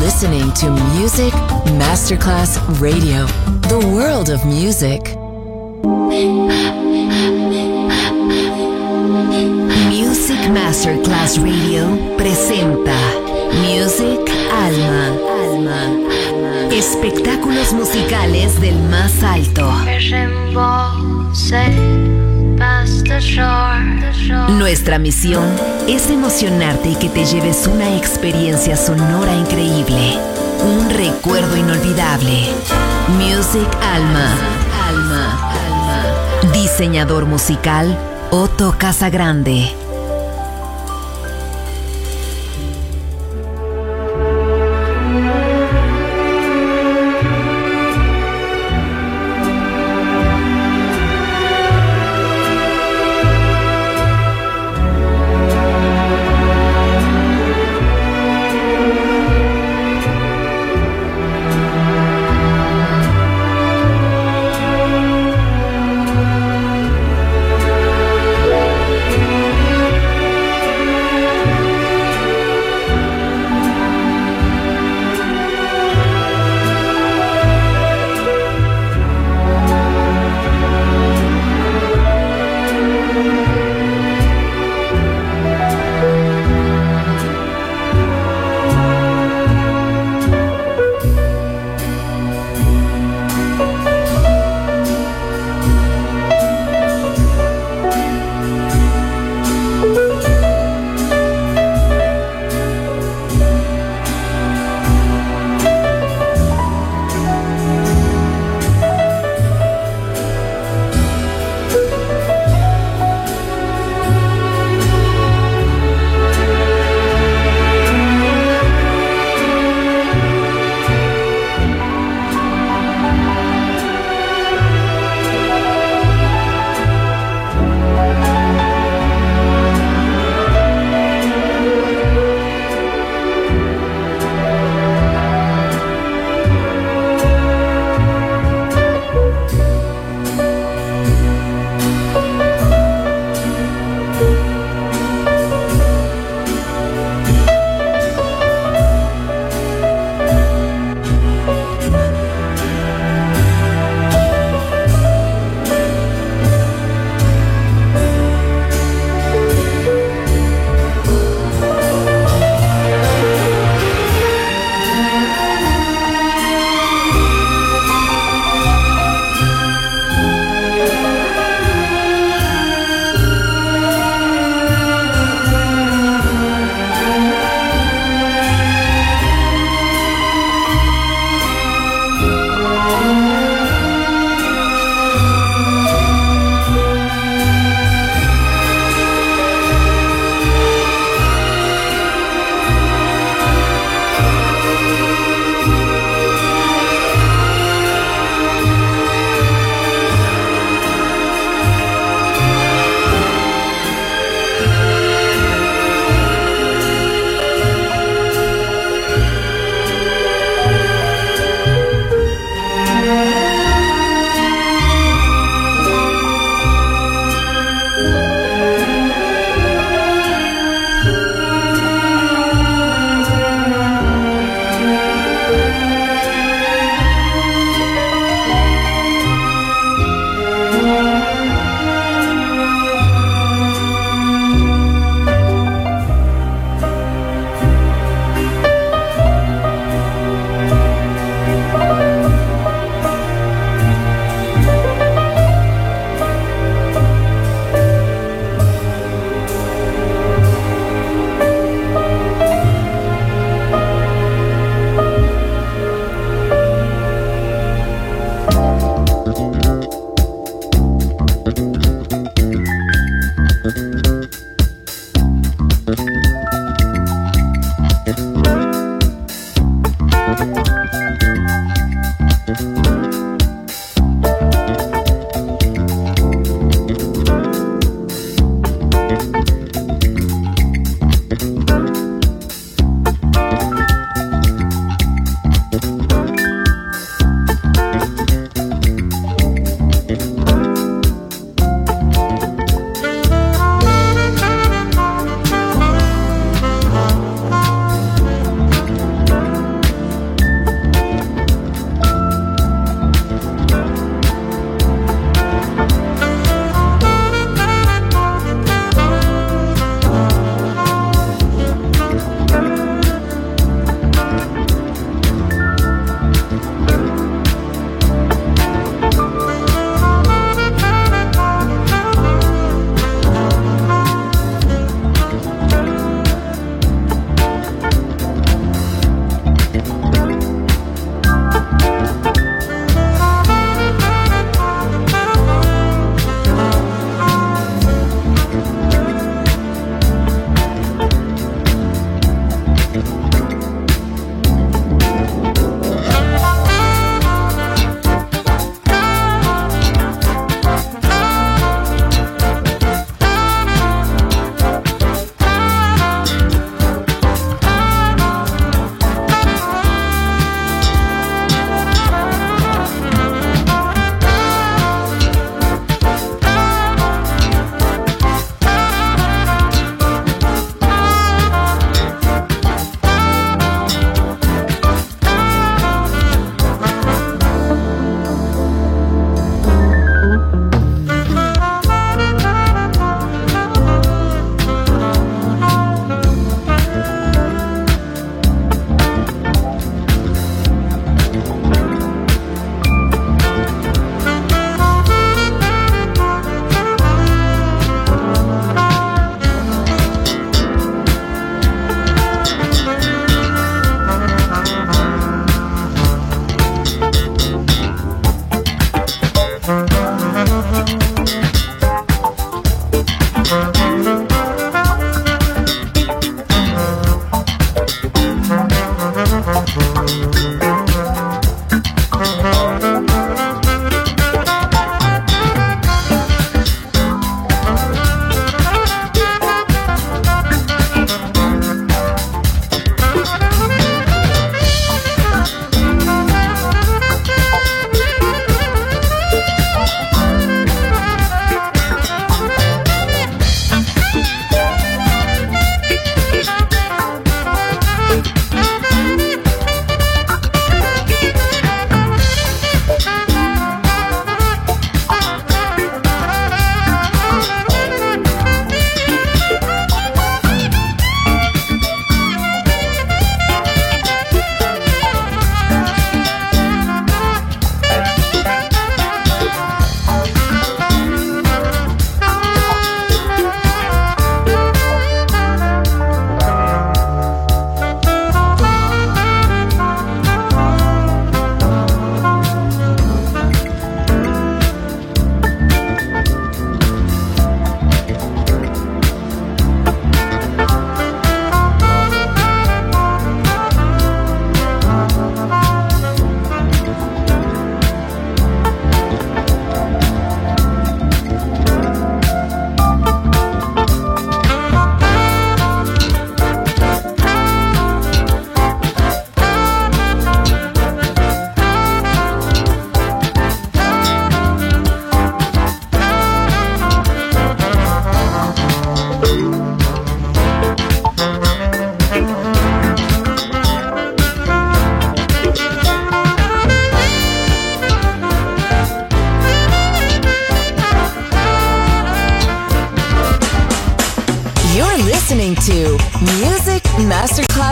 listening to Music Masterclass Radio, the world of music. Music Masterclass Radio presenta Music Alma. Espectáculos musicales del más alto. Nuestra misión es emocionarte y que te lleves una experiencia sonora increíble, un recuerdo inolvidable. Music Alma. Diseñador musical Otto Casagrande.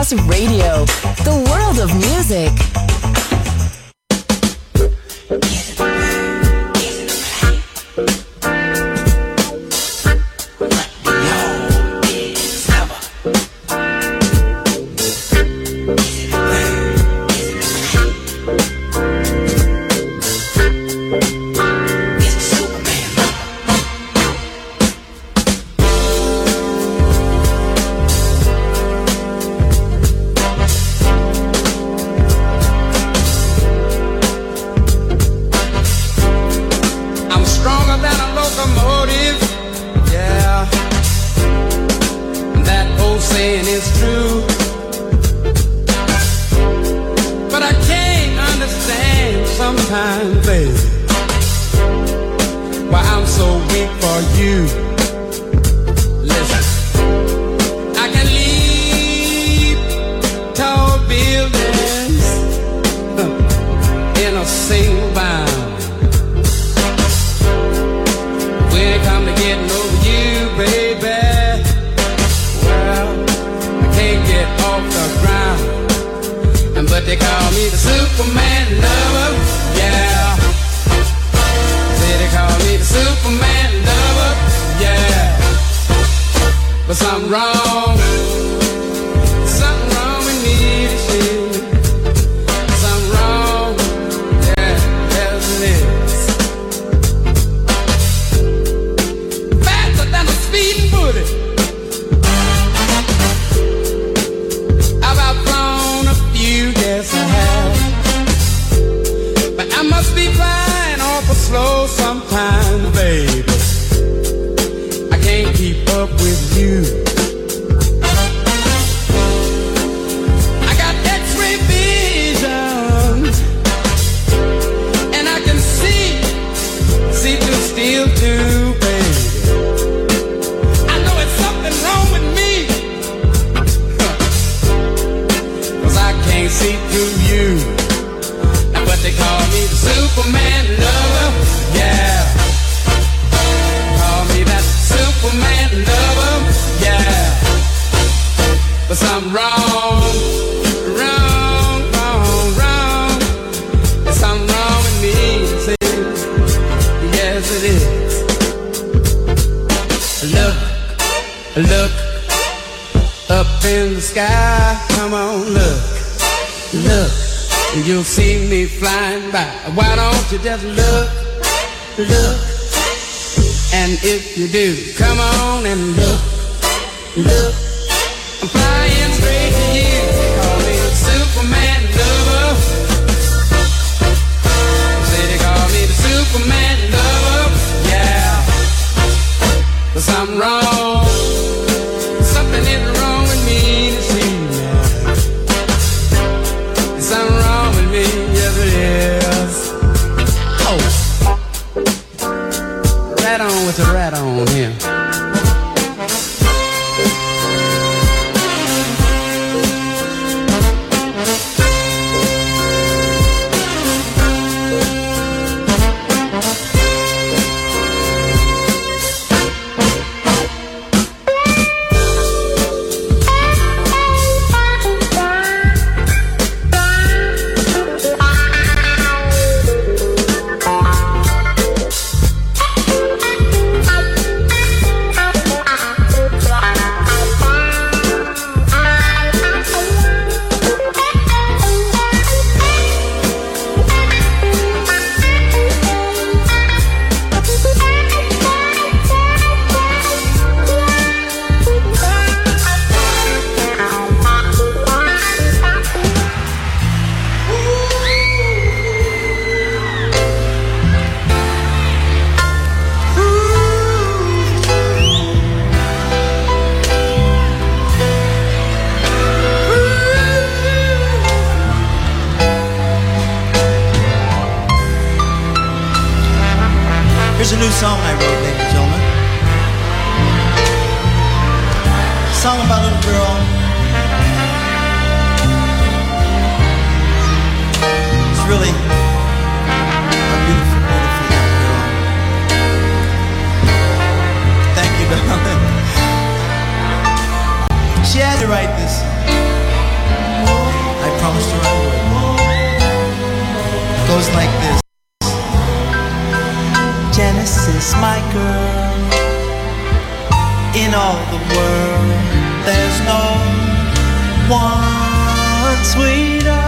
Masterclass Radio, the world of music. Here's a new song I wrote, ladies and gentlemen. A song about a little girl. It's really a beautiful, beautiful young girl. Thank you, darling. She had to write this song. goes like this. Genesis, my girl, in all the world there's no one sweeter.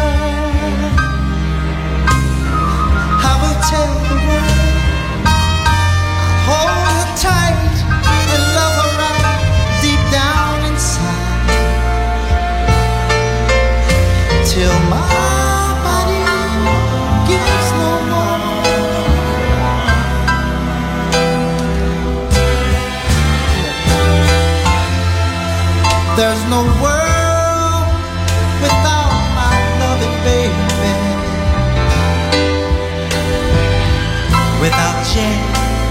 I will tell the world, hold her tight and love her right deep down inside, till my body gives no more. There's no world without my loving baby, without Jane.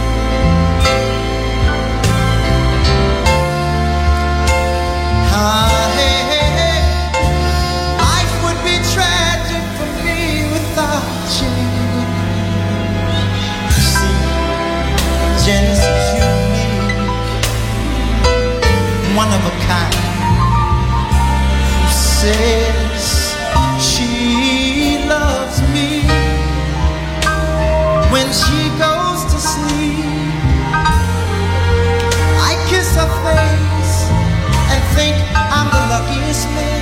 Hey, hey, hey. Life would be tragic for me without Jane. You see, Genesis, unique, one of a kind, who says she loves me when she goes to sleep. I kiss her face and think I'm the luckiest man.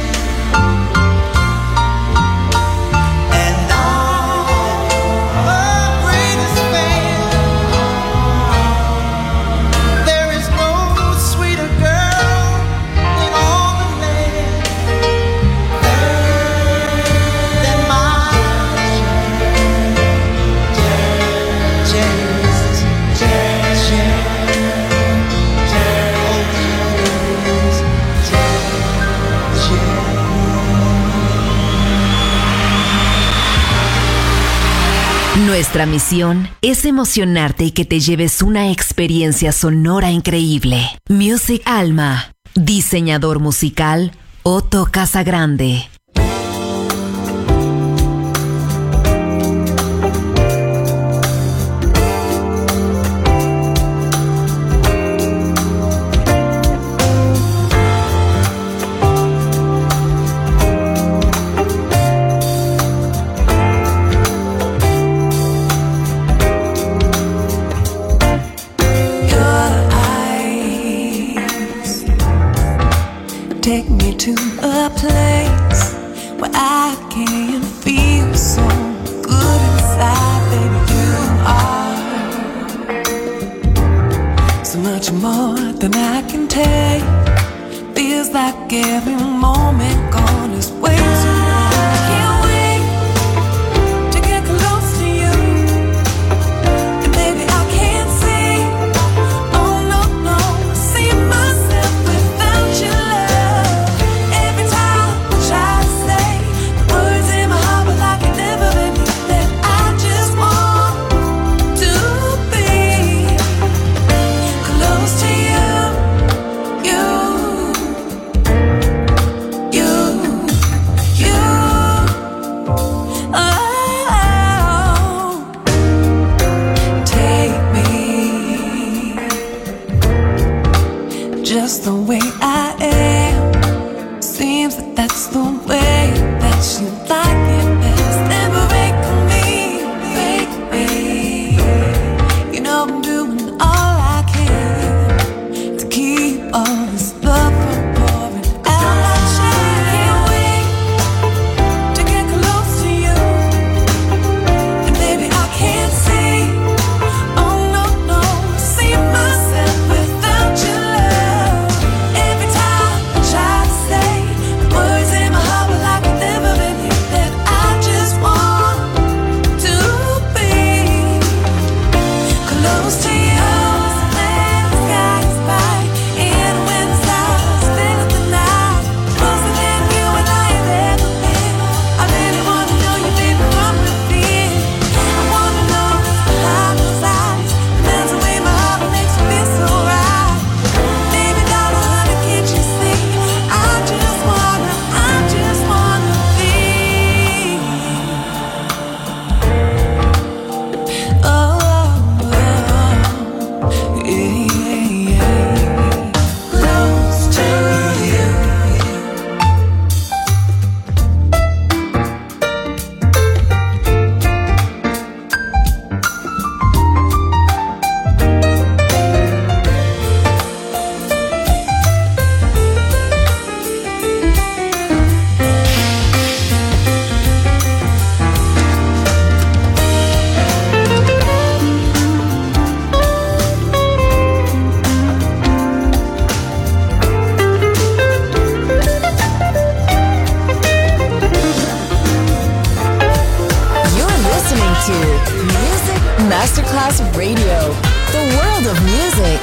And I'm her greatest fan. There is no sweeter girl in all the land than my Nuestra misión es emocionarte y que te lleves una experiencia sonora increíble. Music Alma. Diseñador musical Otto Casagrande. Take me to a place where I can feel so good inside, baby. You are so much more than I can take. Feels like every moment gone is way too long. I can't wait to get close to you, and baby I can't see, oh no, no, see myself without your love. Just the way I am, seems that that's the way that you like it best. Never fake me, you know I'm doing all I can to keep all this love from pouring out my chest. Can't wait to get close to you, and baby I can't see, oh no, no, see myself without your love. Every time I try to say the words in my heart, but like I've never been here, that I Masterclass Radio, the world of music.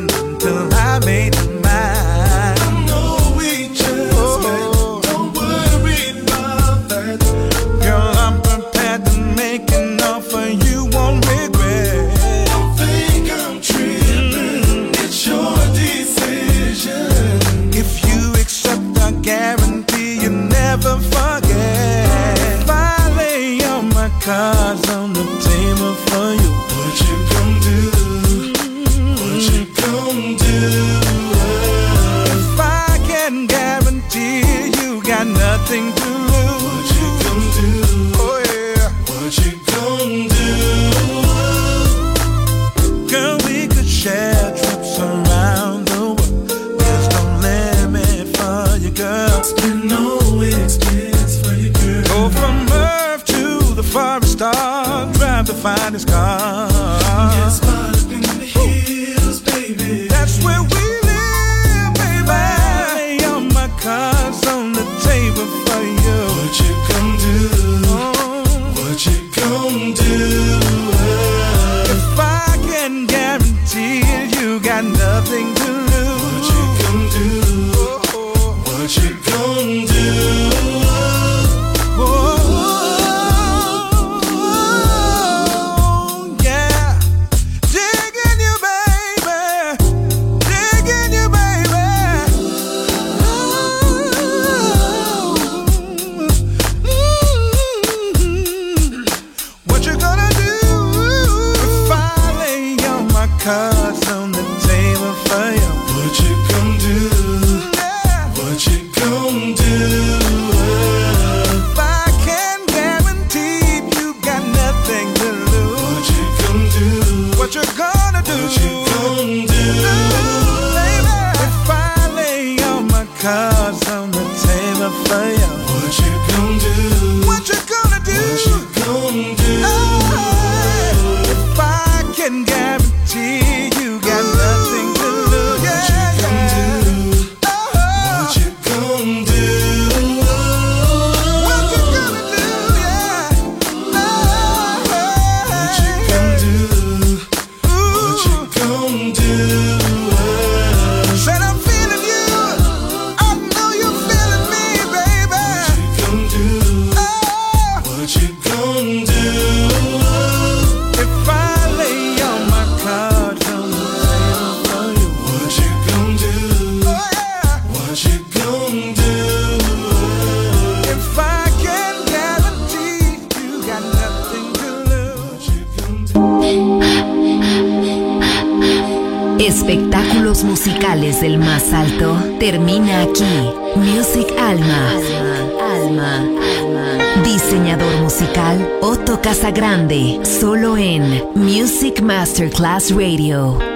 till I made it mine. I know we just met, don't worry. gonna do? If I can guarantee you got nothing to lose, what you gonna do? Oh yeah, what you gonna do? Girl, we could share trips around the world. There's no limit for you, girl. Spend no expense for you, girl. Go from Earth to the forest star, drive the finest car. Yes, but up in the hills, baby. That's where we live, baby. Lay all my cards on the table for you. What you gonna do? What you gonna do? If I can guarantee you got nothing to lose, what you gonna do? What you gonna do? Yeah, digging you, baby, digging you, baby. What you gonna do if I lay all my cards on the table for you? What you gonna do? What you gonna do? If I can guarantee you got nothing to lose, what you gonna do? What you gonna do? What you gonna do? Baby, if I lay all my cards on the table for you, what you gonna do? What you gonna do? What you gonna do? If I can guarantee you got nothing to lose, what you gonna do? What you gonna do? What you gonna do? Yeah. What you gonna do? What you gonna do? Said I'm feeling you. I know you're feeling me, baby. What you gonna do? What you gonna do? If I lay all my cards on the table for you, what you gonna do? Oh yeah. What you gonna do? If I can guarantee you got nothing to lose, what you gonna do? Espectáculos musicales del más alto termina aquí. Music Alma. Diseñador musical Otto Casagrande, solo en Music Masterclass Radio.